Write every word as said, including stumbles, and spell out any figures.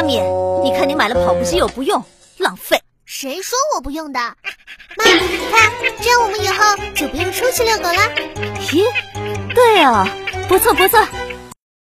咪，你看你买了跑步机又不用，浪费。 谁说我不用的？妈，你看，这样我们以后就不用出去遛狗了。 咦，对哦，不错不错，